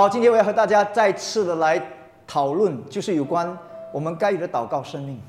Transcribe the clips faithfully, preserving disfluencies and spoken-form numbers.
好，今天我要和大家再次的来讨论，就是有关我们该有的祷告生命。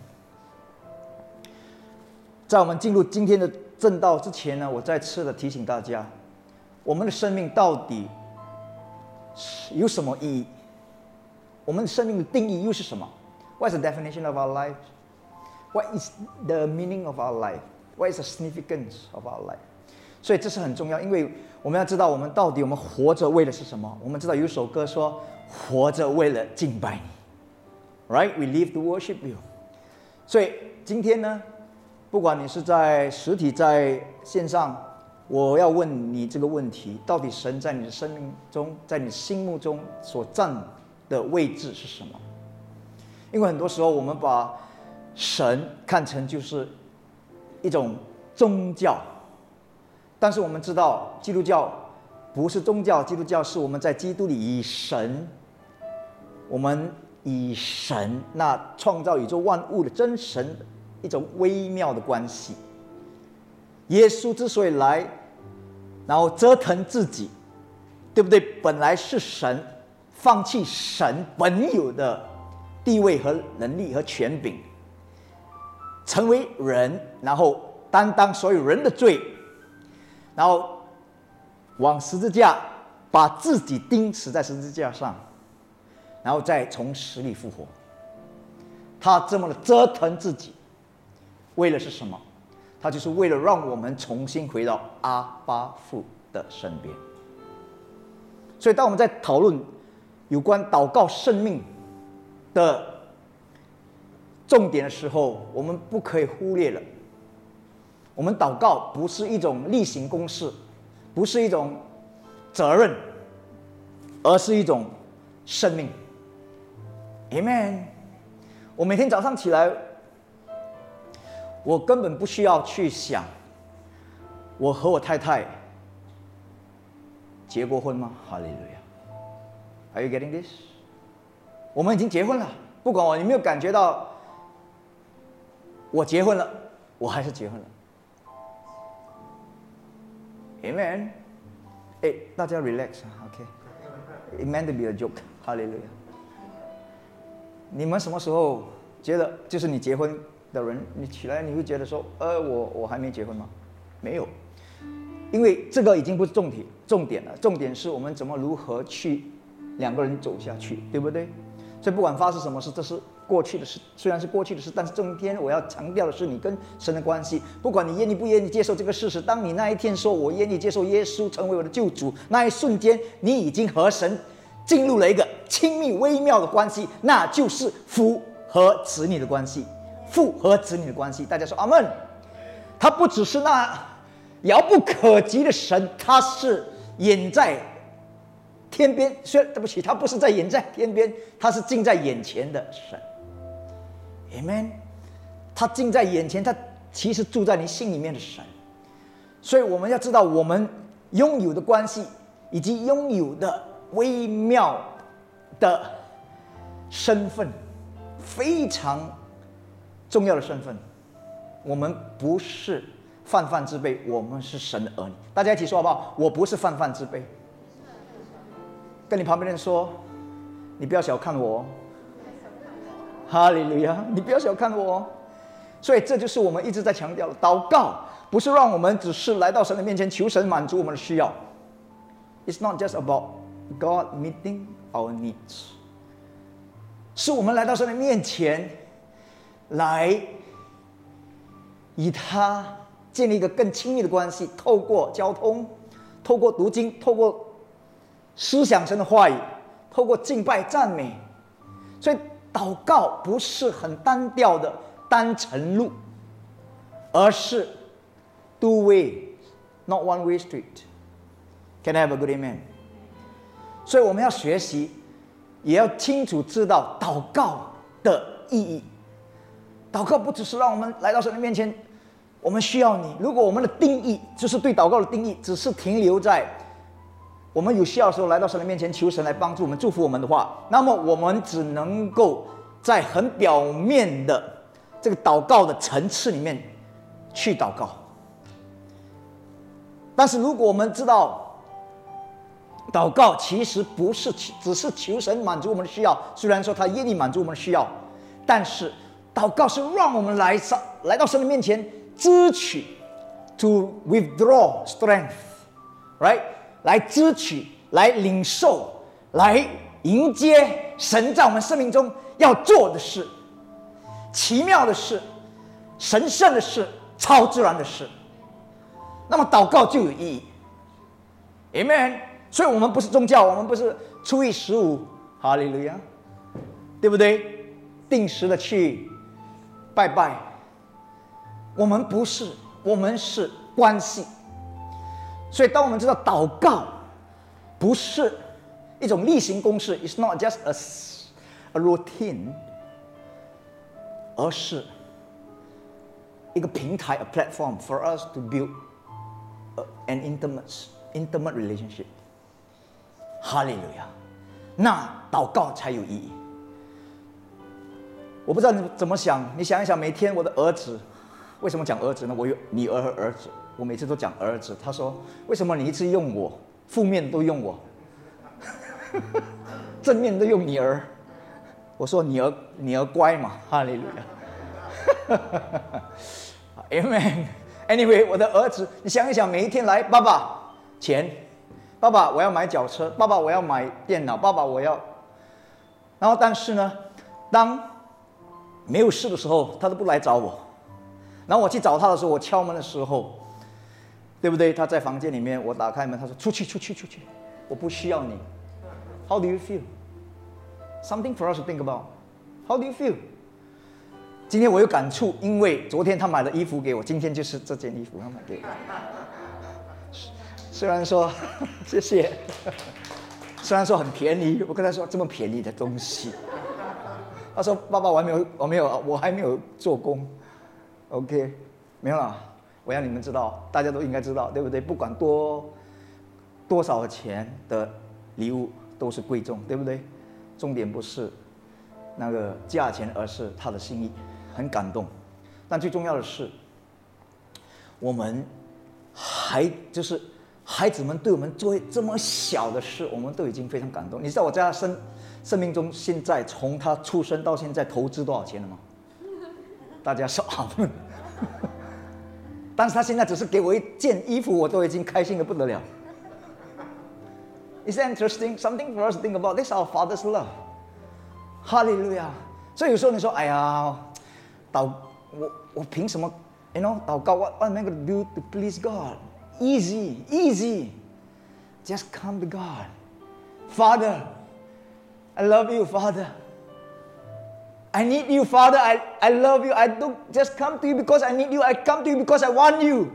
在我们进入今天的正道之前呢，我再次的提醒大家，我们的生命到底有什么意义？我们的生命的定义又是什么？ What is the definition of our life? What is the meaning of our life? What is the significance of our life? 所以这是很重要，因为我们要知道我们到底我们活着为的是什么。我们知道有一首歌说，活着为了敬拜你 ，Right? We live to worship you. 所以今天呢，不管你是在实体在线上，我要问你这个问题：到底神在你的生命中，在你心目中所占的位置是什么？因为很多时候我们把神看成就是一种宗教。但是我们知道，基督教不是宗教，基督教是我们在基督里以神，我们以神那创造宇宙万物的真神一种微妙的关系。耶稣之所以来，然后折腾自己，对不对？本来是神，放弃神本有的地位和能力和权柄，成为人，然后担当所有人的罪。然后往十字架把自己钉死在十字架上，然后再从死里复活。他这么的折腾自己，为了是什么？他就是为了让我们重新回到阿爸父的身边。所以当我们在讨论有关祷告生命的重点的时候，我们不可以忽略了，我们祷告不是一种例行公事，不是一种责任，而是一种生命。 Amen。 我每天早上起来，我根本不需要去想我和我太太结过婚吗？哈利路亚。 Are you getting this？ 我们已经结婚了，不管我有没有感觉到我结婚了，我还是结婚了。Amen。 哎，大家 relax， OK。It meant to be a joke。哈利路亚。你们什么时候觉得，就是你结婚的人，你起来你会觉得说，呃，我我还没结婚吗？没有，因为这个已经不是重点，重点了。重点是我们怎么如何去两个人走下去，对不对？所以不管发生什么事，这是过去的事，虽然是过去的事，但是今天我要强调的是你跟神的关系。不管你愿意不愿意接受这个事实，当你那一天说我愿意接受耶稣成为我的救主，那一瞬间你已经和神进入了一个亲密微妙的关系，那就是父和子女的关系。父和子女的关系，大家说阿们。他不只是那遥不可及的神，他是远在天边，虽然对不起，他不是在远在天边，他是近在眼前的神。Amen。 他近在眼前，他其实住在你心里面的神。所以我们要知道，我们拥有的关系以及拥有的微妙的身份，非常重要的身份。我们不是泛泛之辈，我们是神的儿女。大家一起说好不好？我不是泛泛之辈。跟你旁边的人说，你不要小看我。哈利路亚！你不要小看我。所以这就是我们一直在强调的，祷告不是让我们只是来到神的面前求神满足我们的需要。It's not just about God meeting our needs， 是我们来到神的面前，来与他建立一个更亲密的关系，透过交通，透过读经，透过思想神的话语，透过敬拜赞美。所以祷告不是很单调的单程路，而是 two way not one way street。 Can I have a good amen？ 所以我们要学习，也要清楚知道祷告的意义。祷告不只是让我们来到神的面前，我们需要你。如果我们的定义，就是对祷告的定义，只是停留在我们有需要的时候来到神的面前求神来帮助我们、祝福我们的话，那么我们只能够在很表面的这个祷告的层次里面去祷告。但是如果我们知道祷告其实不是只是求神满足我们的需要，虽然说他愿意满足我们的需要，但是祷告是让我们来来到神的面前支取 ，to withdraw strength，right， 来支取，来领受，来迎接神在我们生命中要做的事，奇妙的事，神圣的事，超自然的事。那么祷告就有意义 ，Amen。所以我们不是宗教，我们不是初一十五，哈利路亚，对不对？定时的去拜拜。我们不是，我们是关系。所以当我们知道祷告不是一种例行公事 ，it's not just a a routine， 而是一个平台 ，a platform for us to build an intimate intimate relationship。哈利路亚，那祷告才有意义。我不知道你怎么想，你想一想，每天我的儿子，为什么讲儿子呢？我有女儿和儿子，我每次都讲儿子。他说：“为什么你一直用我，负面都用我，正面都用女儿？”我说：“女儿，女儿乖嘛。”哈利路亚。Amen。Anyway， 我的儿子，你想一想，每一天来，爸爸钱。爸爸，我要买脚车。爸爸，我要买电脑。爸爸，我要……然后，但是呢，当没有事的时候，他都不来找我。然后我去找他的时候，我敲门的时候，对不对？他在房间里面，我打开门，他说：“出去，出去，出去，我不需要你。” How do you feel? Something for us to think about. How do you feel? 今天我有感触，因为昨天他买了衣服给我，今天就是这件衣服他买给我。虽然说谢谢，虽然说很便宜，我跟他说这么便宜的东西，他说爸爸我还没有我没有我还没有做工 ，OK， 没有啦，我要你们知道，大家都应该知道，对不对？不管多多少钱的礼物都是贵重，对不对？重点不是那个价钱，而是他的心意，很感动。但最重要的是，我们还就是。孩子们对我们做这么小的事，我们都已经非常感动。你知道我在他生生命中，现在从他出生到现在投资多少钱了吗？大家说好。但是他现在只是给我一件衣服，我都已经开心的不得了。Is that interesting? Something for us to think about. This is our Father's love. 哈利路亚。所以有时候你说，哎呀，祷我我凭什么 ？You know， 祷告 ，What what am I going to do to please God?Easy, easy. Just come to God. Father, I love you, Father. I need you, Father. I, I love you. I don't just come to you because I need you. I come to you because I want you.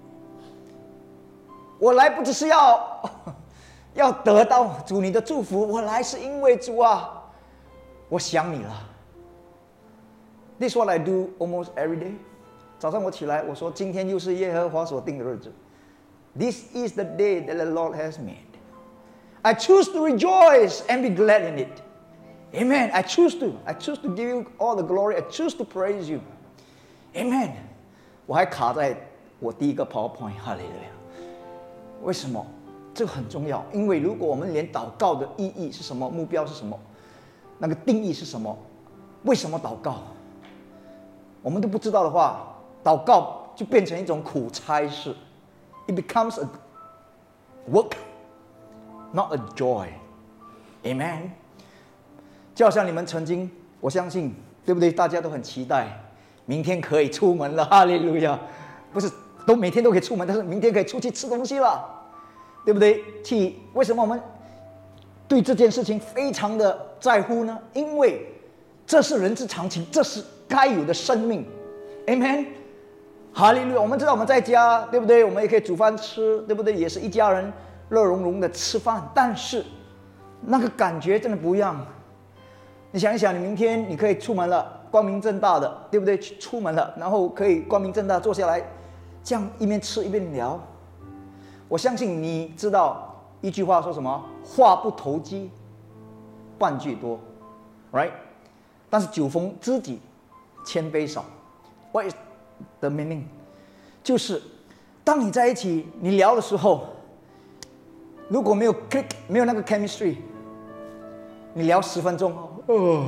我来不只是要要得到主你的祝福，我来是因为主啊，我想你了。This is what I do almost every day. 早上我起来，我说今天又是耶和华所定的日子。This is the day that the Lord has made. I choose to rejoice and be glad in it. Amen. I choose to. I choose to give you all the glory. I choose to praise you. Amen. 我还卡在我第一个 PowerPoint， 哈利路亚。为什么？这个很重要，因为如果我们连祷告的意义是什么、目标是什么、那个定义是什么、为什么祷告，我们都不知道的话，祷告就变成一种苦差事。It becomes a work, not a joy. Amen. 就好像你们曾经，我相信，对不对？大家都很期待明天可以出门了，哈利路亚！不是都每天都可以出门，但是明天可以出去吃东西了，对不对？去为什么我们对这件事情非常的在乎呢？因为这是人之常情，这是该有的生命。Amen。哈利路亚！我们知道我们在家，对不对？我们也可以煮饭吃，对不对？也是一家人乐融融的吃饭，但是那个感觉真的不一样。你想一想，你明天你可以出门了，光明正大的，对不对？出门了，然后可以光明正大坐下来，这样一边吃一边聊。我相信你知道一句话说什么？话不投机半句多 ，right？ 但是酒逢知己千杯少。What is the meaning？ 就是当你在一起你聊的时候， 如果没有 click， 没有那个 chemistry， 你聊十分钟，哦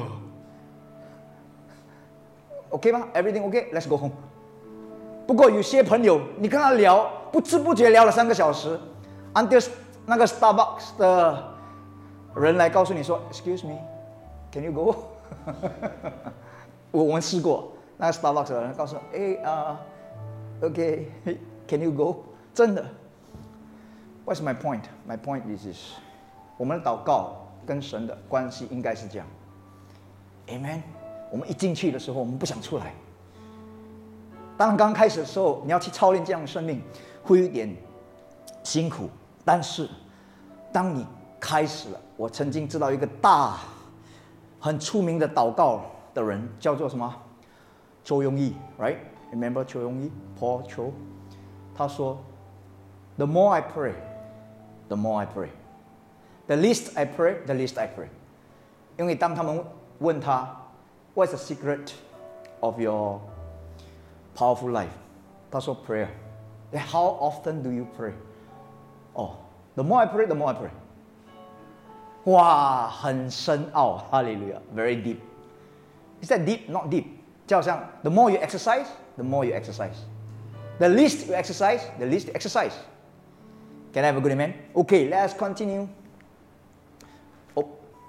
，OK 吗 ？Everything OK？Let's go home。不过有些朋友，你跟他聊，不知不觉聊了三个小时 ，until 那个 Starbucks 的人来告诉你说 ，Excuse me，can you go？ 我我们试过，那个 Starbucks 的人告诉我，哎啊、uh, ，OK，can you go？ 真的。What's my point? My point is this： 我们的祷告跟神的关系应该是这样。Amen。我们一进去的时候，我们不想出来。当然，刚开始的时候，你要去操练这样的生命，会有点辛苦。但是，当你开始了，我曾经知道一个大、很出名的祷告的人，叫做什么？周庸义 ，right？ Remember 周庸义 ，Paul Cho？ 他说 ：“The more I pray, the more I pray. The least I pray, the least I pray.” 因为当他们问他 ，What's the secret of your powerful life？ 他说 prayer. How often do you pray? Oh, the more I pray, the more I pray. 哇，很深奥，哈利路亚 ，very deep. Is that deep? Not deep. 就好像 the more you exercise, the more you exercise. The least you exercise, the least you exercise. Can I have a good amen? Okay, let's continue. Oh.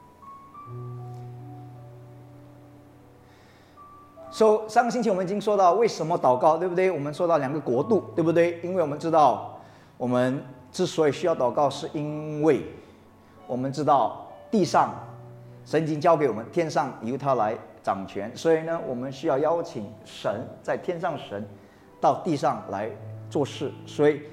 So 上个星期我们已经说到为什么祷告，对不对？我们说到两个国度，对不对？因为我们知道，我们之所以需要祷告，是因为我们知道地上神已经交给我们，天上由他来掌权，所以呢，我们需要邀请神在天上神到地上来做事。所以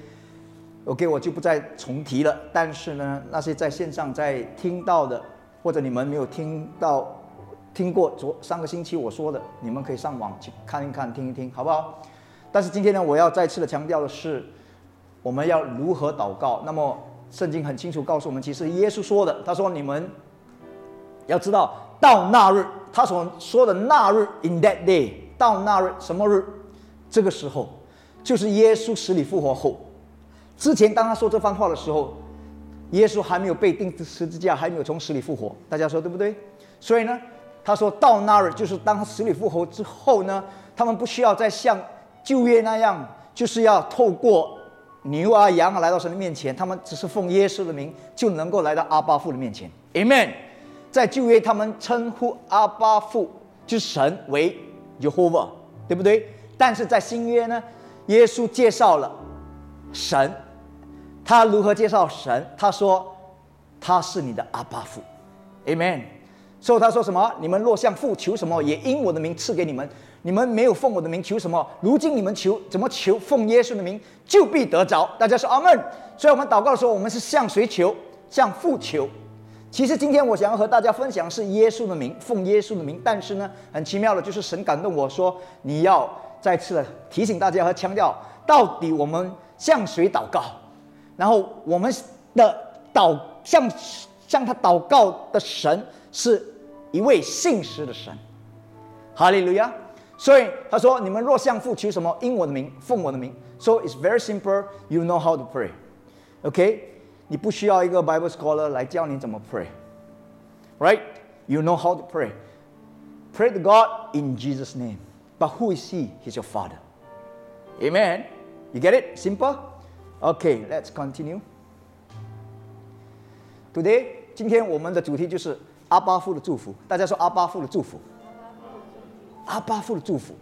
OK， 我就不再重提了。但是呢，那些在线上在听到的，或者你们没有听到、听过昨上个星期我说的，你们可以上网去看一看、听一听，好不好？但是今天呢，我要再次的强调的是，我们要如何祷告。那么圣经很清楚告诉我们，其实耶稣说的，他说你们要知道，到那日，他所说的那日 ，in that day， 到那日什么日？这个时候，就是耶稣死里复活后。之前当他说这番话的时候，耶稣还没有被钉十字架，还没有从死里复活。大家说对不对？所以呢，他说到那日，就是当他死里复活之后呢，他们不需要再像旧约那样，就是要透过牛啊羊啊来到神的面前，他们只是奉耶稣的名就能够来到阿爸父的面前。Amen。在旧约，他们称呼阿爸父就是神为 Jehovah， 对不对？但是在新约呢，耶稣介绍了神。他如何介绍神？他说他是你的阿爸父 Amen。 所以他说什么？你们若向父求什么，也因我的名赐给你们。你们没有奉我的名求什么，如今你们求怎么求？奉耶稣的名就必得着。大家说阿们。所以我们祷告的时候，我们是向谁求？向父求。其实今天我想要和大家分享是耶稣的名，奉耶稣的名。但是呢，很奇妙的就是神感动我说，你要再次的提醒大家和强调，到底我们向谁祷告？然后我们的祷向向他祷告的神是一位信实的神，哈利路亚。所以他说：“你们若向父求什么，因我的名，奉我的名。” So it's very simple. You know how to pray. OK， 你不需要一个 Bible scholar 来教你怎么 pray. Right? You know how to pray. Pray to God in Jesus' name. But who is He? He's your Father. Amen. You get it? Simple.Okay, let's continue. Today, 今天我们的主题就是阿爸父的祝福。大家说阿爸父的祝福。阿爸父的祝福。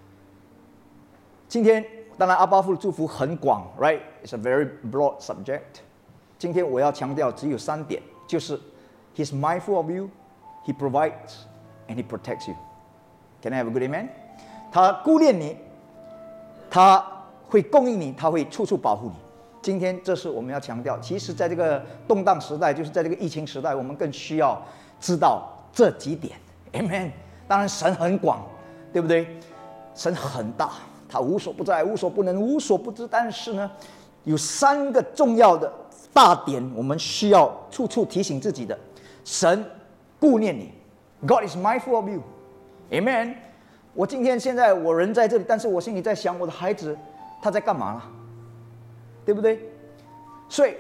今天当然阿爸父的祝福很广 ，right? It's a very broad subject. 今天我要强调只有三点，就是 He's mindful of you, He provides, and He protects you. Can I have a good amen? 他顾念你，他会供应你，他会处处保护你。今天这是我们要强调。其实在这个动荡时代，就是在这个疫情时代，我们更需要知道这几点 Amen。 当然神很广，对不对？神很大，他无所不在，无所不能，无所不知。但是呢，有三个重要的大点我们需要处处提醒自己的。神顾念你， God is mindful of you. Amen。 我今天现在我人在这里，但是我心里在想我的孩子他在干嘛了，对不对？所以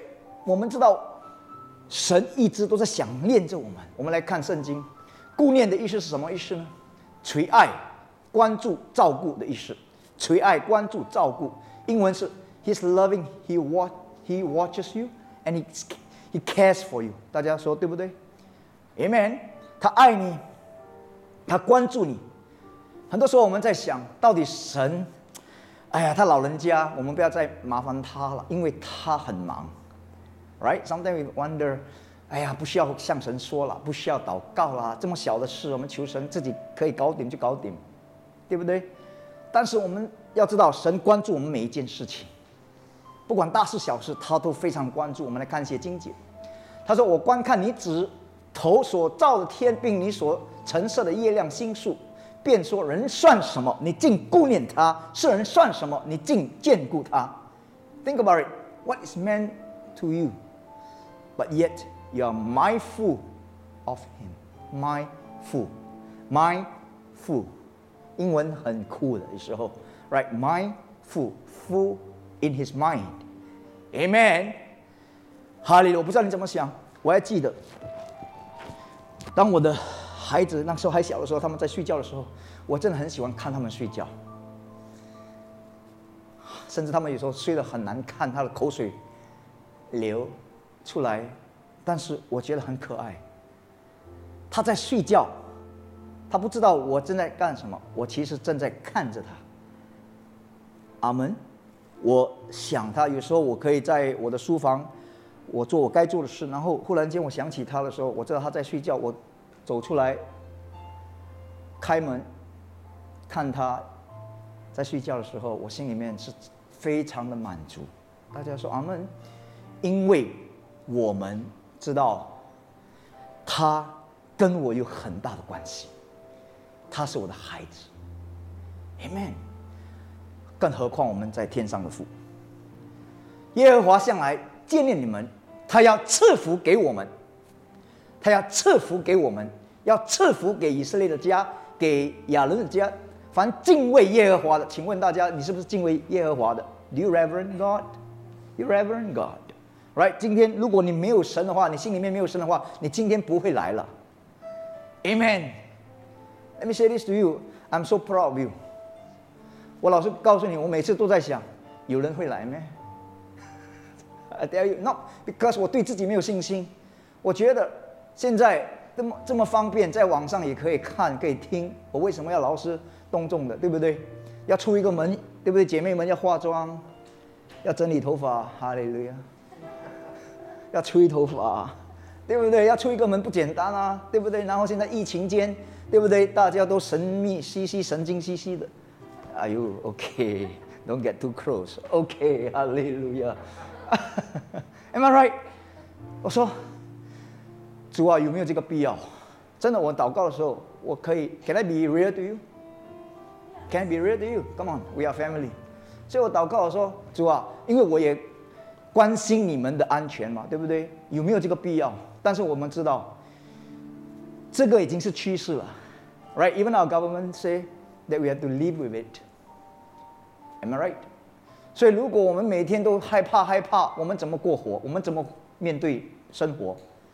我们知道神一直都在想念着我们。我们来看圣经，顾念的意思是什么意思呢？垂爱、关注、照顾的意思。垂爱、关注、照顾，英文是 He's loving, He watch, He watches you, and He He cares for you。大家说对不对 ？Amen。他爱你，他关注你。很多时候我们在想，到底神，哎呀，他老人家，我们不要再麻烦他了，因为他很忙。Right? Sometimes we wonder， 哎呀，不需要向神说了，不需要祷告啦，这么小的事，我们求神自己可以搞定就搞定，对不对？但是我们要知道，神关注我们每一件事情，不管大事小事，他都非常关注。我们来看一些经节，他说：“我观看你指头所造的天，并你所陈设的月亮星宿，便说人算什么？你竟顾念他；世人算什么？你竟眷顾他。” Think about it. What is man to you? But yet you are mindful of him. Mindful, mindful. 英文很酷的，有时候 ，right? Mindful, full in his mind. Amen. 哈利路亚！我不知道你怎么想，我还记得，当我的孩子那时候还小的时候，他们在睡觉的时候，我真的很喜欢看他们睡觉，甚至他们有时候睡得很难看，他的口水流出来，但是我觉得很可爱。他在睡觉，他不知道我正在干什么，我其实正在看着他。阿门。我想他，有时候我可以在我的书房，我做我该做的事，然后忽然间我想起他的时候，我知道他在睡觉，我走出来，开门，看他在睡觉的时候，我心里面是非常的满足。大家说阿们，因为我们知道他跟我有很大的关系，他是我的孩子 ，Amen。更何况我们在天上的父，耶和华向来纪念你们，他要赐福给我们，他要赐福给我们，要赐福给以色列的家，给亚伦的家。凡敬畏耶和华的，请问大家，你是不是敬畏耶和华的 ？Do you reverend God? You reverend God, right? 今天如果你没有神的话，你心里面没有神的话，你今天不会来了。Amen. Let me say this to you. I'm so proud of you. 我老实告诉你，我每次都在想，有人会来咩 ？I tell you, not because 我对自己没有信心。我觉得现在这么这么方便，在网上也可以看，可以听。我为什么要劳师动众的，对不对？要出一个门，对不对？姐妹们要化妆，要整理头发，哈利路亚。要吹头发，对不对？要出一个门不简单啊，对不对？然后现在疫情间，对不对？大家都神秘兮兮、神经兮兮的。Are you okay? Don't get too close. Okay, hallelujah. Am I right? 我说，主啊，有没有这个必要？真的，我祷告的时候，我可以 Can I be real to you? Can I be real to you? Come on, we are family. 所以我祷告的时候，主啊，因为我也关心你们的安全嘛，对不对？有没有这个必要？但是我们知道，这个已经是趋势了 ，right? Even our government say that we have to live with it. Am I right? 所以如果我们每天都害怕害怕，我们怎么过活？我们怎么面对生活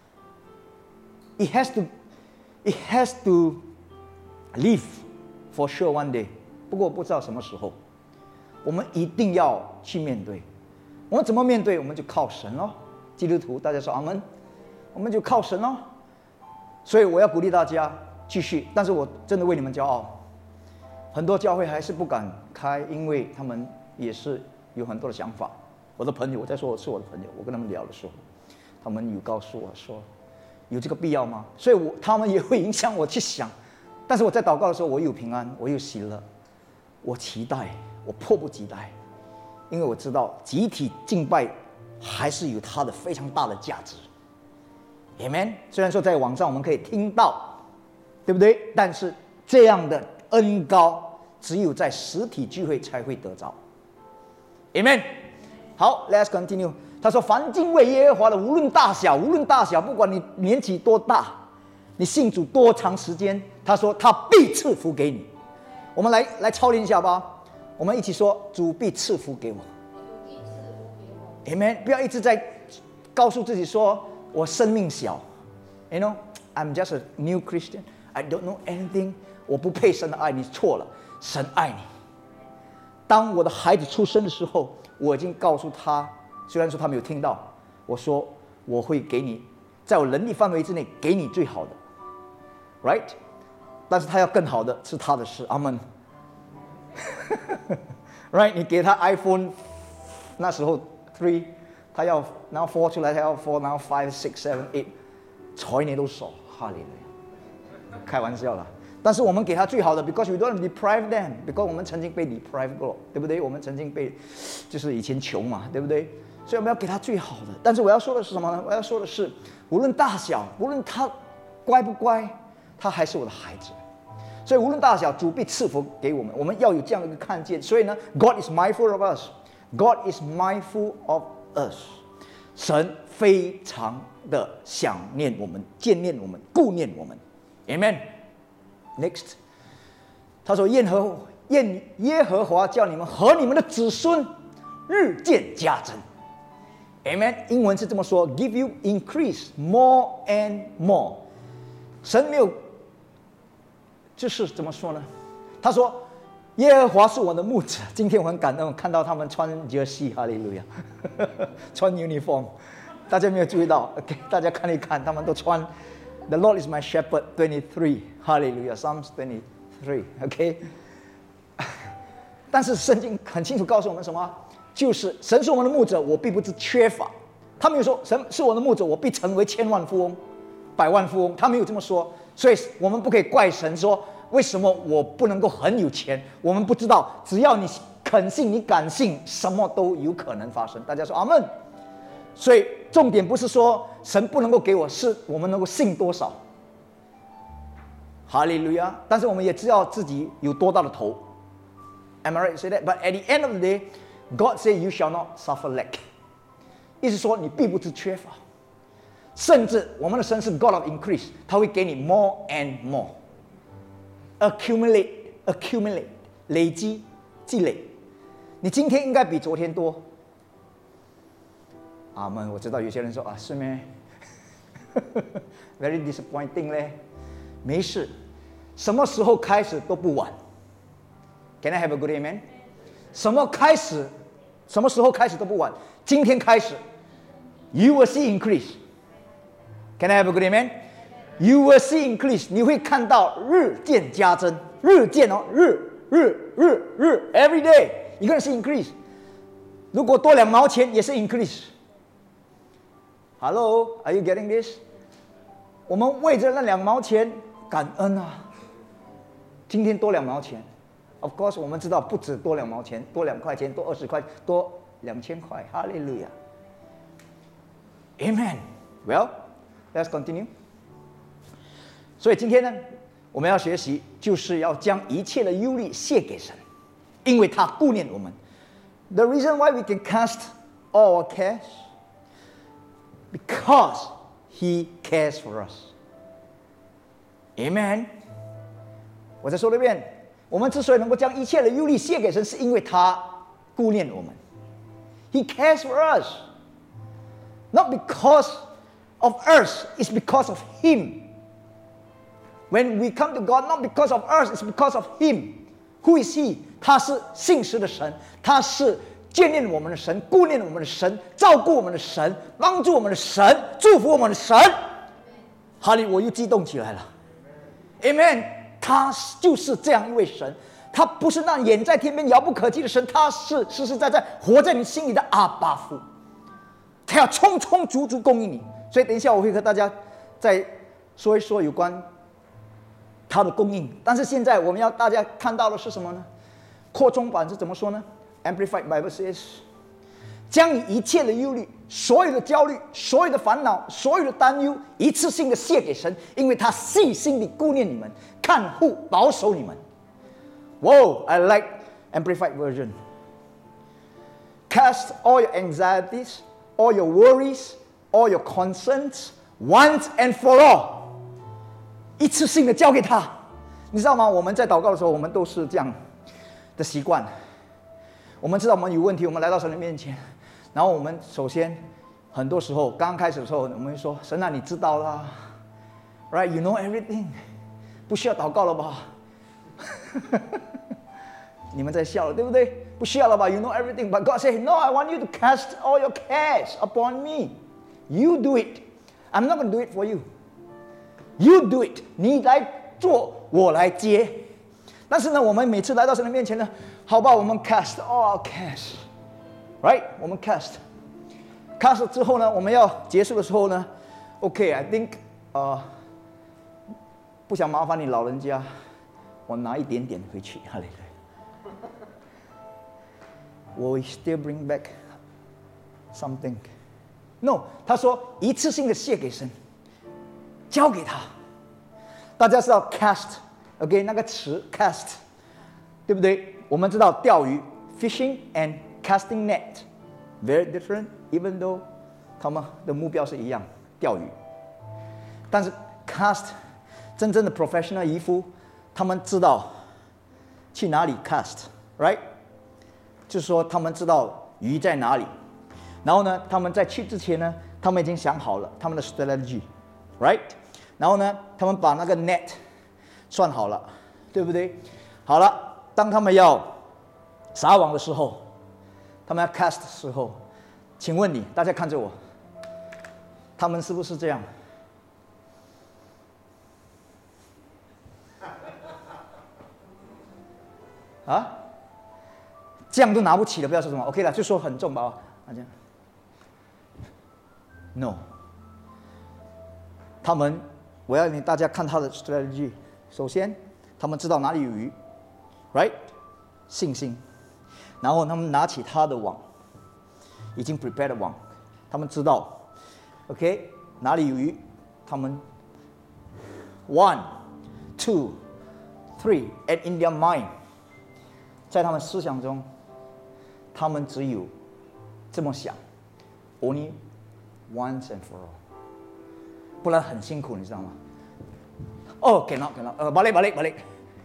？It has to, it has to live for sure one day. 不过不知道什么时候，我们一定要去面对。我们怎么面对？我们就靠神咯。基督徒，大家说阿们，我们就靠神咯。所以我要鼓励大家继续，但是我真的为你们骄傲。很多教会还是不敢开，因为他们也是有很多的想法。我的朋友，我在说我是我的朋友，我跟他们聊的时候，他们有告诉我说，有这个必要吗？所以我他们也会影响我去想。但是我在祷告的时候，我有平安，我有喜乐，我期待，我迫不及待，因为我知道集体敬拜还是有它的非常大的价值。Amen。虽然说在网上我们可以听到，对不对？但是这样的恩膏只有在实体聚会才会得着。Amen。好 ，Let's continue。他说：“凡敬畏耶和华的，无论大小，无论大小，不管你年纪多大，你信主多长时间，他说他必赐福给你。”我们来来操练一下吧。我们一起说：“主必赐福给我。” Amen。不要一直在告诉自己说我生命小 ，You know I'm just a new Christian, I don't know anything， 我不配神的爱，你错了，神爱你。当我的孩子出生的时候，我已经告诉他，虽然说他没有听到，我说我会给你，在我能力范围之内给你最好的 ，right？ 但是他要更好的是他的事，阿门。right？ 你给他 iPhone， 那时候 three， 他要然后 four 出来，他要 four， 然后 five six seven eight， 睬你都少，哈利路亚，开玩笑啦。但是我们给他最好的 ，because we don't deprive them，because 我们曾经被 deprive 过，对不对？我们曾经被，就是以前穷嘛，对不对？所以我们要给他最好的。但是我要说的是什么呢？我要说的是，无论大小，无论他乖不乖，他还是我的孩子。所以无论大小，主必赐福给我们。我们要有这样的一个看见。所以呢 ，God is mindful of us. God is mindful of us. 神非常的想念我们，眷念我们，顾念我们。Amen.Next， 他说：“耶和愿耶和华叫你们和你们的子孙日渐加增。” Amen。英文是这么说 ：“Give you increase more and more。”神没有，就是怎么说呢？他说：“耶和华是我的牧者。”今天我很感动，看到他们穿 jersey， 哈利路亚，穿 uniform。大家没有注意到 ？OK， 大家看一看，他们都穿。The Lord is my shepherd, twenty-three. Hallelujah. Psalms twenty-three. OK 。但是圣经很清楚告诉我们什么？就是神是我们的牧者，我必不致缺乏。他没有说神是我的牧者，我必成为千万富翁、百万富翁。他没有这么说，所以我们不可以怪神说为什么我不能够很有钱。我们不知道，只要你肯信、你敢信，什么都有可能发生。大家说阿们。所以重点不是说神不能够给我，是我们能够信多少。哈利路亚！但是我们也知道自己有多大的头。Am I right to say that? But at the end of the day, God said, "You shall not suffer lack." 意思说你必不致缺乏。甚至我们的神是 God of increase， 他会给你 more and more。Accumulate, accumulate， 累积、积累。你今天应该比昨天多。阿们，我知道有些人说啊，是咩？Very disappointing 嘞。没事，什么时候开始都不晚。Can I have a good amen？ 什么开始，什么时候开始都不晚。今天开始 ，You will see increase。Can I have a good amen？ You will see increase， 你会看到日渐加增，日渐哦，日日日日 ，every day， 一个人是 increase。如果多两毛钱也是 increase。Hello, are you getting this？ 我们为着那两毛钱感恩啊！今天多两毛钱 ，of course 我们知道不止多两毛钱，多两块钱，多二十块，多两千块，哈利路亚 ，Amen。Well, let's continue。所以今天呢，我们要学习，就是要将一切的忧虑卸给神，因为他顾念我们。The reason why we can cast all our cares。Because He cares for us. Amen. 我再说一遍，我们之所以能够将一切的忧虑卸给神，是因为他顾念我们。He cares for us. Not because of us, it's because of Him. When we come to God, not because of us, it's because of Him. Who is He? 他是信实的神，他是眷念我们的神，顾念我们的神，照顾我们的神，帮助我们的神，祝福我们的神。哈利，我又激动起来了。Amen。他就是这样一位神，他不是那远在天边遥不可及的神，他是实实在在活在你心里的阿爸父。他要充充足足供应你。所以等一下我会和大家再说一说有关他的供应。但是现在我们要大家看到的是什么呢？扩充版是怎么说呢？Amplified Bible says， 将你一切的忧虑、所有的焦虑、所有的烦恼、所有的担忧，一次性的卸给神，因为他细心地顾念你们，看护、保守你们。Whoa, I like Amplified version. Cast all your anxieties, all your worries, all your concerns, once and for all. 一次性的交给他。你知道吗？我们在祷告的时候，我们都是这样的习惯。我们知道我们有问题，我们来到神的面前，然后我们首先很多时候刚开始的时候，我们会说：“神啊，你知道啦 ，right? You know everything， 不需要祷告了吧？”你们在笑了，对不对？不需要了吧 ？You know everything, but God said, "No, I want you to cast all your cares upon me. You do it. I'm not going to do it for you. You do it. 你来做，我来接。但是呢，我们每次来到神的面前呢，好吧，我们 cast all cares, right? 我们 cast。cast 之后呢，我们要结束的时候呢 ，OK, I think 呃，不想麻烦你老人家，我拿一点点回去，哈利路亚。Will we still bring back something? No， 他说一次性的献给神，交给他。大家知道 cast，OK， 那个词 cast， 对不对？我们知道钓鱼 fishing and casting net very different，even though 他们的目标是一样，钓鱼。但是 cast 真正的 professional 渔夫，他们知道去哪里 cast，right？ 就是说他们知道鱼在哪里，然后呢，他们在去之前呢，他们已经想好了他们的 strategy，right？ 然后呢，他们把那个 net 算好了，对不对？好了，当他们要撒网的时候，他们要 cast 的时候，请问你，大家看着我，他们是不是这样？啊？这样都拿不起了，不要说什么 OK 了，就说很重吧，啊这样。No， 他们，我要你大家看他的 strategy。首先，他们知道哪里有鱼 ，right？ 信心。然后他们拿起他的网，已经 prepared 的网，他们知道 ，OK 哪里有鱼，他们 one, two, three, and in their mind， 在他们思想中。他们只有这么想 ，only once and for all， 不然很辛苦，你知道吗？哦 ，cannot cannot， 呃 ，balik balik balik，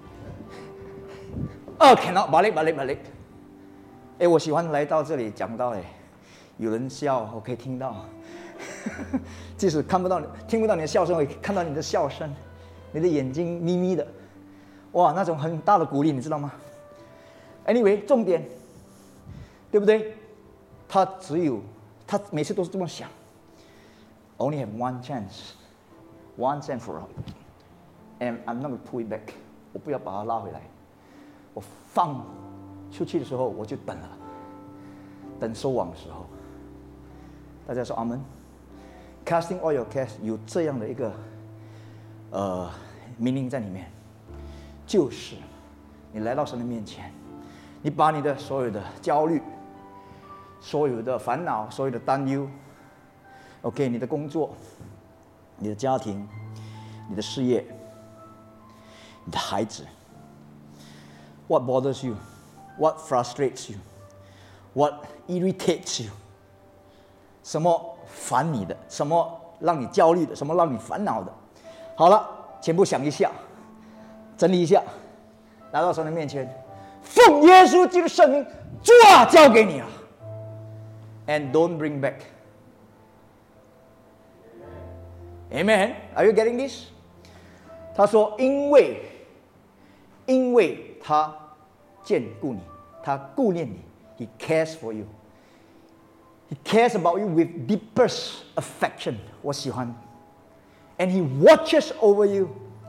哦 ，cannot balik balik balik。哎，我喜欢来到这里讲到，哎，有人笑，我可以听到，即使看不到你，听不到你的笑声，我也看到你的笑声，你的眼睛眯眯的，哇，那种很大的鼓励，你知道吗 ？Anyway， 重点。对不对？他只有，他每次都是这么想。Only have one chance, once and for all, and I'm not going to pull it back。我不要把它拉回来。我放出去的时候，我就等了，等收网的时候。大家说阿门。Casting all your cares 有这样的一个呃命令在里面，就是你来到神的面前，你把你的所有的焦虑。所有的烦恼，所有的担忧 ，OK， 你的工作、你的家庭、你的事业、你的孩子 ，What bothers you? What frustrates you? What irritates you? 什么烦你的？什么让你焦虑的？什么让你烦恼的？好了，全部想一下，整理一下，来到神的面前，奉耶稣基督的圣名，抓交给你了。And don't bring back. Amen. Are you getting this? 他说：“因为，因为他眷顾你，他顾念你 ，He cares for you. He cares about you with deepest affection. 我喜欢。And He watches over you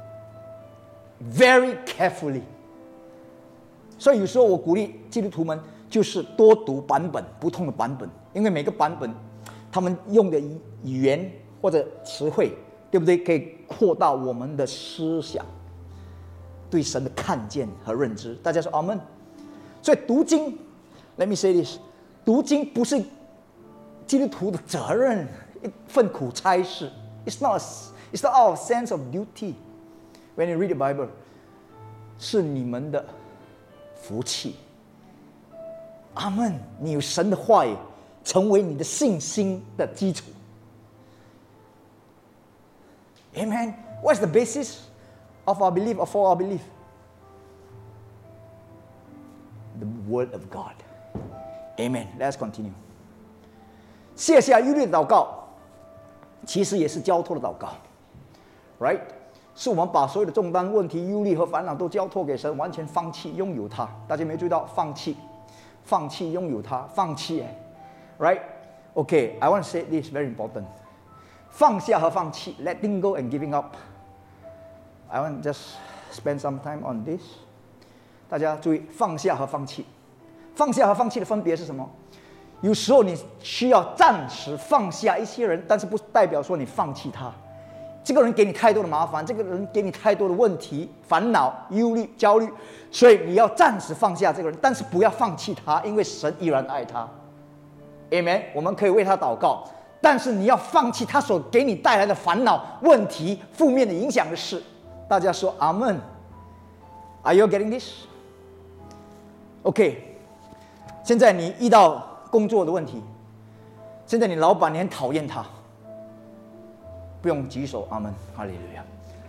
very carefully. 所以有时候我鼓励基督徒们，就是多读版本，不同的版本。”因为每个版本，他们用的语言或者词汇，对不对？可以扩大我们的思想，对神的看见和认知。大家说阿门。所以读经 ，Let me say this， 读经不是基督徒的责任，一份苦差事。It's not, it's not our sense of duty. When you read the Bible， 是你们的福气。阿门。你有神的话语。成为你的信心的基础。Amen. What's the basis of our belief or for our belief? The Word of God. Amen. Let's continue. 卸下忧虑的祷告，其实也是交托的祷告 ，right？ 是我们把所有的重担、问题、忧虑和烦恼都交托给神，完全放弃拥有它。大家没有注意到放弃，放弃拥有它，放弃哎 ，right？Okay, I want to say this very important. 放下和放弃 ，letting go and giving up. I want just spend some time on this. 大家注意，放下和放弃，放下和放弃的分别是什么？有时候你需要暂时放下一些人，但是不代表说你放弃他。这个人给你太多的麻烦，这个人给你太多的问题、烦恼、忧虑、焦虑，所以你要暂时放下这个人，但是不要放弃他，因为神依然爱他。Amen。我们可以为他祷告，但是你要放弃他所给你带来的烦恼、问题、负面的影响的事。大家说阿们 ？Are you getting this? OK。现在你遇到工作的问题，现在你老板你很讨厌他。不用举手，阿门，哈利路亚。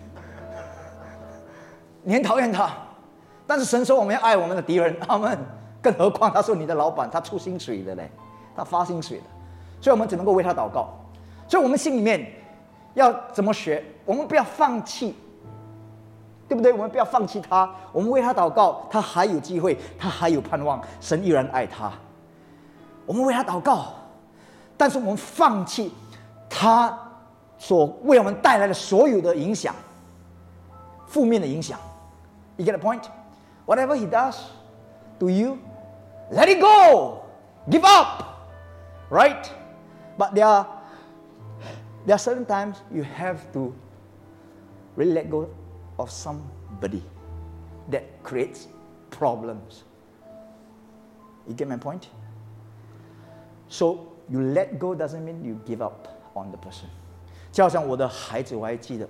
你很讨厌他，但是神说我们要爱我们的敌人，阿门。更何况他说你的老板，他出薪水的嘞，他发薪水的，所以我们只能够为他祷告。所以我们心里面要怎么学？我们不要放弃，对不对？我们不要放弃他，我们为他祷告，他还有机会，他还有盼望，神依然爱他。我们为他祷告，但是我们放弃他所为我们带来的所有的影响，负面的影响。You get the point? Whatever he does to you, let it go, give up, right? But there are there are certain times you have to really let go of somebody that creates problems. You get my point? So you let go doesn't mean you give up on the person. 就好像我的孩子，我还记得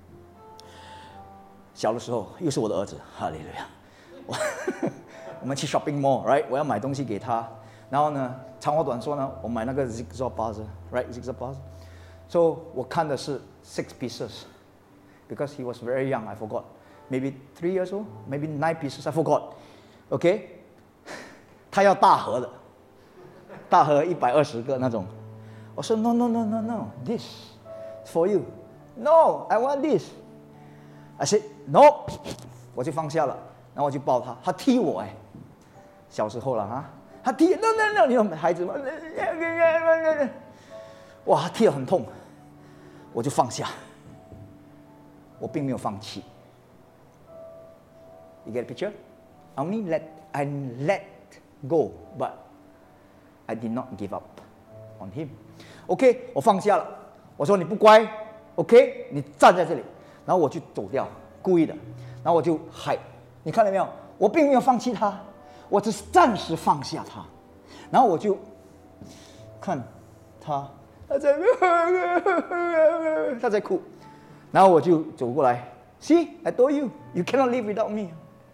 小的时候，又是我的儿子，哈利路亚。我我们去 shopping mall，right？ 我要买东西给他，然后呢，长话短说呢，我买那个 zigzag puzzle，right？ zigzag puzzle。So 我看的是 six pieces because he was very young. I forgot, maybe three years old, maybe nine pieces. I forgot. OK， 他要大盒的，大盒一百二十个那种。我说 no no no no no this。For you, no, I want this. I said no， 我就放下了，然后我就抱他，他踢我哎，小时候了哈，他踢 no no no， 你有孩子吗？哇，他踢得很痛，我就放下，我并没有放弃。You get the picture? I only let I let go, but I did not give up on him. OK， 我放下了。我说你不乖 ，OK， 你站在这里，然后我就走掉，故意的，然后我就嗨，你看到没有？我并没有放弃他，我只是暂时放下他，然后我就看他，他在他在哭，然后我就走过来 ，See, I told you, you cannot live without me.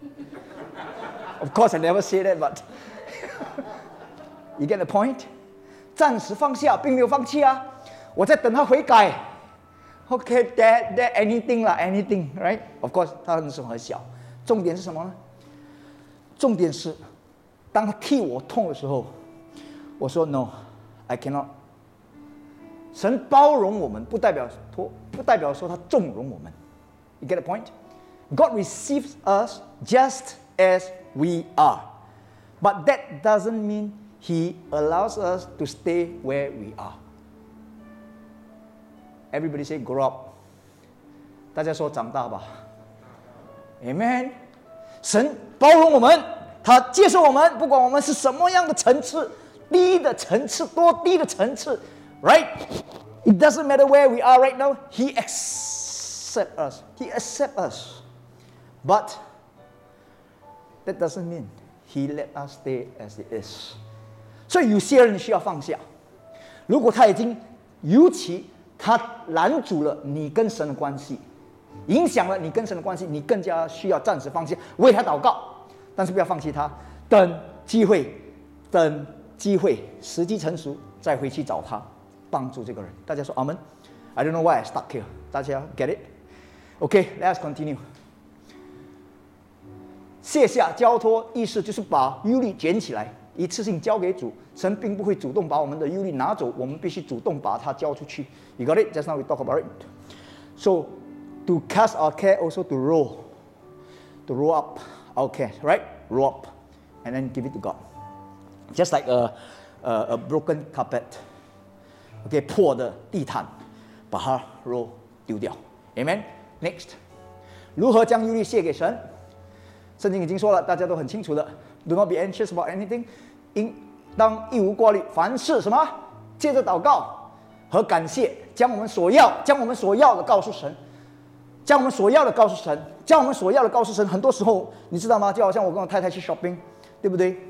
Of course, I never say that, but you get the point? 暂时放下，并没有放弃啊。我在等他悔改 ，OK， that that anything 啦 ，anything， right？ Of course， 他那时候很小。重点是什么呢？重点是，当他替我痛的时候，我说 No，I cannot。神包容我们，不代表说不代表说他纵容我们。You get the point? God receives us just as we are, but that doesn't mean He allows us to stay where we are. Everybody say grow up. 大家说长大吧。Amen. 神包容我们，他接受我们，不管我们是什么样的层次，低的层次，多低的层次 ，right? It doesn't matter where we are right now. He accepts us. He accepts us. But that doesn't mean He let us stay as it is. 所以有些人需要放下。如果他已经，尤其他拦阻了你跟神的关系，影响了你跟神的关系，你更加需要暂时放下，为他祷告，但是不要放弃他，等机会，等机会，时机成熟再回去找他，帮助这个人。大家说阿门。I don't know why I stuck here. 大家 get it? Okay, let's continue. 卸下交托意识就是把忧虑捡起来一次性交给主。神并不会主动把我们的忧虑拿走，我们必须主动把它交出去。You got it? Just now we talk about it. So, to cast our care, also to roll, to roll up our care, right? Roll up, and then give it to God. Just like a a, a broken carpet. OK， 破的地毯，把它 roll 丢掉。Amen. Next， 如何将忧虑卸给神？圣经已经说了，大家都很清楚的。Do not be anxious about anything， 应当一无挂虑，凡事什么？借着祷告和感谢，将我们所要，将我们所要的告诉神，将我们所要的告诉神，将我们所要的告诉神。很多时候，你知道吗？就好像我跟我太太去 shopping， 对不对？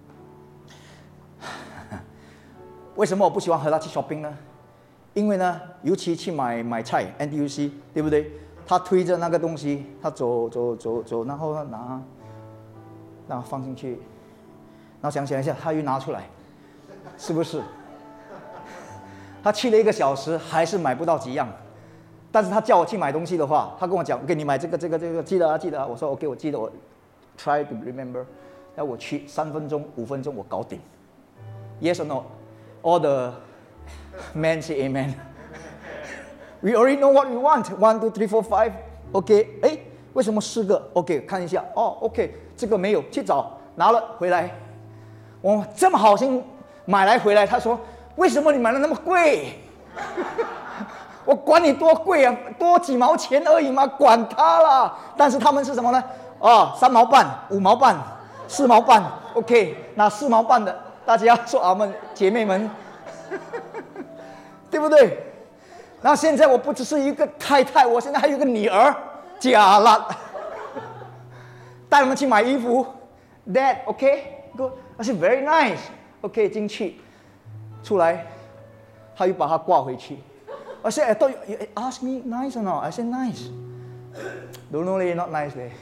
为什么我不喜欢和她去 shopping 呢？因为呢，尤其去买买菜 N T U C， 对不对？他推着那个东西，他走走走走，然后拿，然后放进去，然后想想一下，他又拿出来，是不是？他去了一个小时，还是买不到几样。但是他叫我去买东西的话，他跟我讲 ：“OK， 你买这个这个这个，记得啊，记得啊。”我说 ：“OK， 我记得，我 try to remember。”然后我去三分钟、五分钟，我搞定。Yes or no? All the men say amen. We already know what we want. One, two, three, four, five. OK， 哎，为什么四个 ？OK， 看一下。哦 ，OK， 这个没有，去找拿了回来。我这么好心买来回来，他说：“为什么你买的那么贵？”我管你多贵啊，多几毛钱而已嘛，管他啦。但是他们是什么呢？哦，三毛半、五毛半、四毛半。OK， 拿四毛半的，大家说阿们，姐妹们，对不对？然后现在我不只是一个太太，我现在还有一个女儿，假了，带他们去买衣服 ，Dad OK good， I said very nice OK 进去，出来，他又把它挂回去。I said I thought you, you asked me nice or not? I said nice. Don't know leh, not nice leh.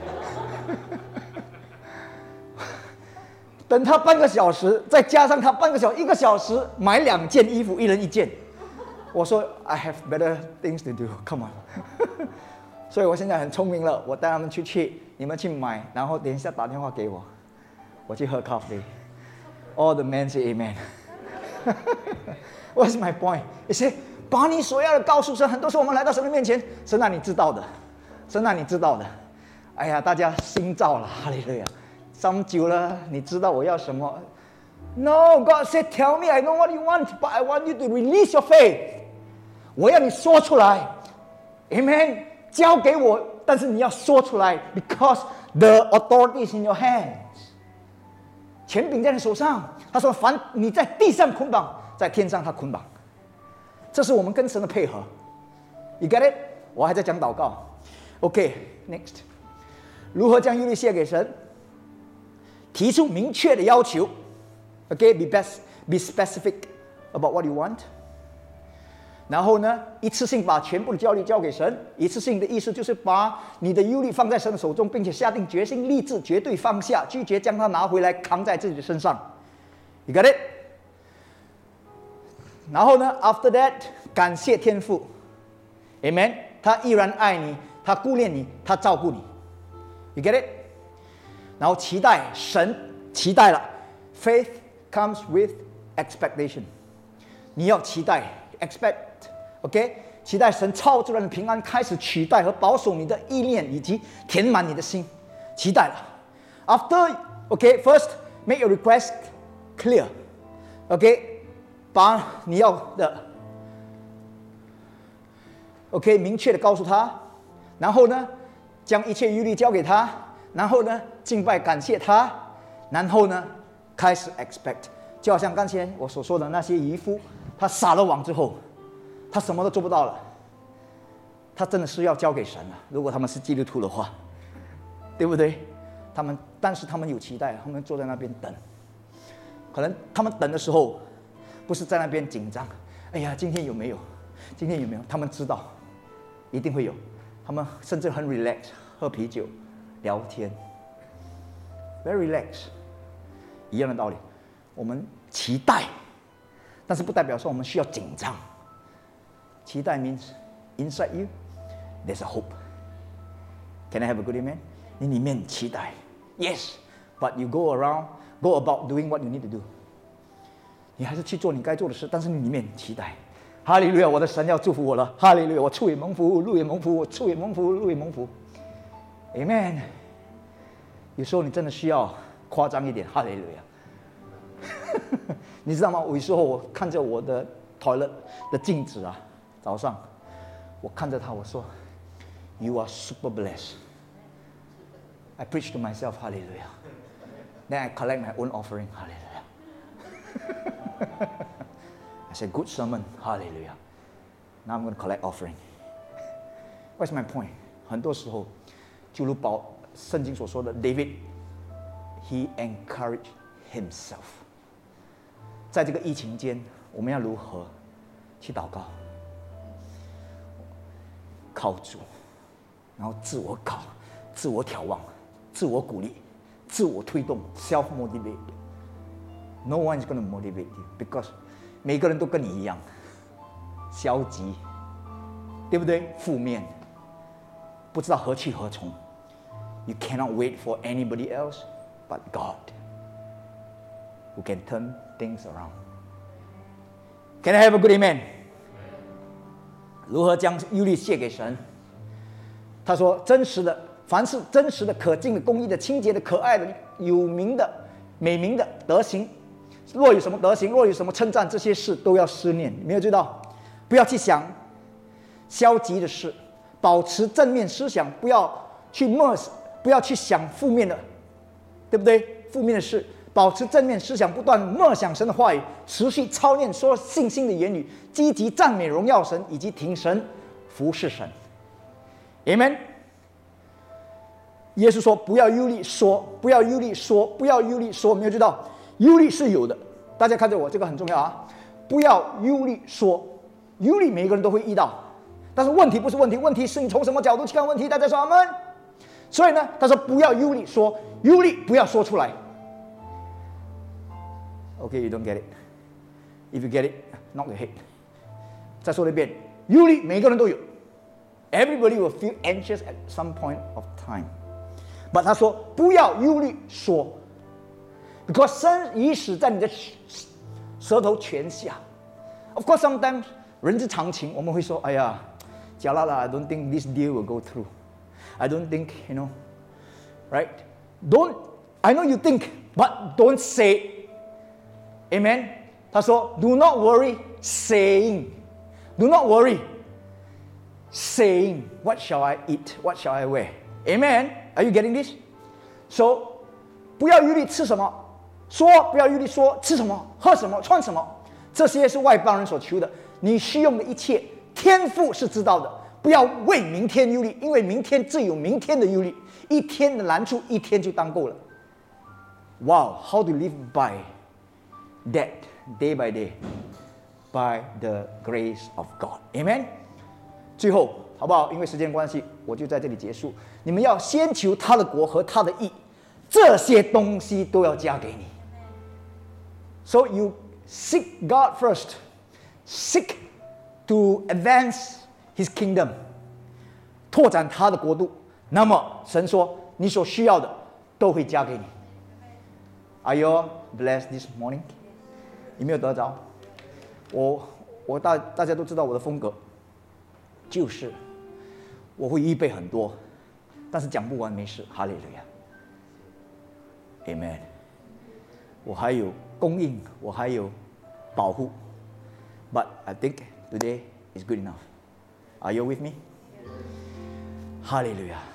等他半个小时，再加上他半个小时，一个小时买两件衣服，一人一件。我说 I have better things to do. Come on. 所以我现在很聪明了，我带他们出去，你们去买，然后等一下打电话给我，我去喝咖啡。All the men say amen. What's my point? You see, 把你所要的告诉神。很多时候我们来到神的面前，神啊，你知道的，神啊，你知道的。哎呀，大家心照了，哈利路亚。这么久了，你知道我要什么 ？No, God said, "Tell me, I know what you want, but I want you to release your faith." 我要你说出来 ，Amen。交给我，但是你要说出来 ，because the authority is in your hands。权柄在你手上。他说：“凡你在地上捆绑，在天上他捆绑。”这是我们跟神的配合。You get it？ 我还在讲祷告。OK，next，、okay, 如何将忧虑卸给神？提出明确的要求。OK，be、okay, best, be specific about what you want。然后呢，一次性把全部的焦虑交给神。一次性的意思就是把你的忧虑放在神的手中，并且下定决心，立志绝对放下，拒绝将它拿回来扛在自己的身上。You got it？ 然后呢 ，after that， 感谢天父 ，Amen。他依然爱你，他顾念你，他照顾你。You get it？ 然后期待神，期待了 ，faith comes with expectation。你要期待 ，expect，OK？、Okay？ 期待神超自然的平安开始取代和保守你的意念，以及填满你的心。期待了 ，after，OK？First，、okay? make your request clear，OK？、Okay？把你要的 ，OK， 明确的告诉他，然后呢，将一切忧虑交给他，然后呢，敬拜感谢他，然后呢，开始 expect， 就好像刚才我所说的那些渔夫，他撒了网之后，他什么都做不到了，他真的是要交给神了。如果他们是基督徒的话，对不对？他们，但是他们有期待，他们坐在那边等，可能他们等的时候。不是在那边紧张，哎呀，今天有没有？今天有没有？他们知道，一定会有。他们甚至很 relax， 喝啤酒，聊天 ，very relax。一样的道理，我们期待，但是不代表说我们需要紧张。期待 means inside you there's a hope. Can I have a good amen? 你里面期待 ，yes， but you go around, go about doing what you need to do. 你还是去做你该做的事，但是你里面期待，哈利路亚，我的神要祝福我了，哈利路亚，我处也蒙福，路也蒙福，我处也蒙福，路也蒙福 ，Amen。有时候你真的需要夸张一点，哈利路亚。你知道吗？有时候我看着我的 toilet 的镜子啊，早上我看着它，我说 ，You are super blessed. I preach to myself, Hallelujah. Then I collect my own offering, Hallelujah. I said, good sermon, Hallelujah. Now I'm going to collect offering. What's my point? 很多时候，就如保圣经所说的 ，David, he encouraged himself. 在这个疫情间，我们要如何去祷告？靠主，然后自我考、自我眺望、自我鼓励、自我推动 （self motivate）。No one is going to motivate you because 每个人都跟你一样，消极，对不对？负面，不知道何去何从。You cannot wait for anybody else but God, who can turn things around. Can I have a good amen? 如何将忧虑卸给神？他说：真实的，凡是真实的、可敬的、公义的、清洁的、可爱的、有名的、美名的德行，若有什么德行，若有什么称赞，这些事都要思念。你没有知道？不要去想消极的事，保持正面思想，不要去默，不要去想负面的，对不对？负面的事。保持正面思想，不断默想神的话语，持续操练说信心的言语，积极赞美荣耀神，以及挺神服侍神。Amen。耶稣说：“不要忧虑说，不要忧虑说，不要忧虑说。”没有知道，忧虑是有的。大家看着我，这个很重要啊！不要忧虑说，忧虑每一个人都会遇到，但是问题不是问题，问题是你从什么角度去看问题。大家说阿们。所以呢，他说不要忧虑说，忧虑不要说出来。Okay, you don't get it. If you get it, knock your head. 再说一遍，忧虑每个人都有。Everybody will feel anxious at some point of time. But 他说不要忧虑说 ，because 生与死在你的舌头泉下。Of course, sometimes 人之常情，我们会说，哎呀，假啦啦 I don't think this deal will go through. I don't think, you know, right? Don't. I know you think, but don't say. Amen. 他说 ，Do not worry, saying, Do not worry, saying, What shall I eat? What shall I wear? Amen. Are you getting this? So, 不要忧虑吃什么，说不要忧虑说吃什么、喝什么、穿什么，这些是外邦人所求的。你需用的一切，天父是知道的。不要为明天忧虑，因为明天自有明天的忧虑。一天的难处，一天就当够了。Wow, how to live by that day by day, by the grace of God. Amen. 最后，好不好？因为时间关系，我就在这里结束。你们要先求他的国和他的义，这些东西都要加给你。So you seek God first, seek to advance His kingdom, 拓展他的国度。那么神说，你所需要的都会加给你。Are you blessed this morning? 有没有得着？我我大大家都知道我的风格，就是我会预备很多，但是讲不完没事。哈利路亚 ，Amen。我还有供应，我还有保护。But I think today is good enough. Are you with me? 哈利路亚。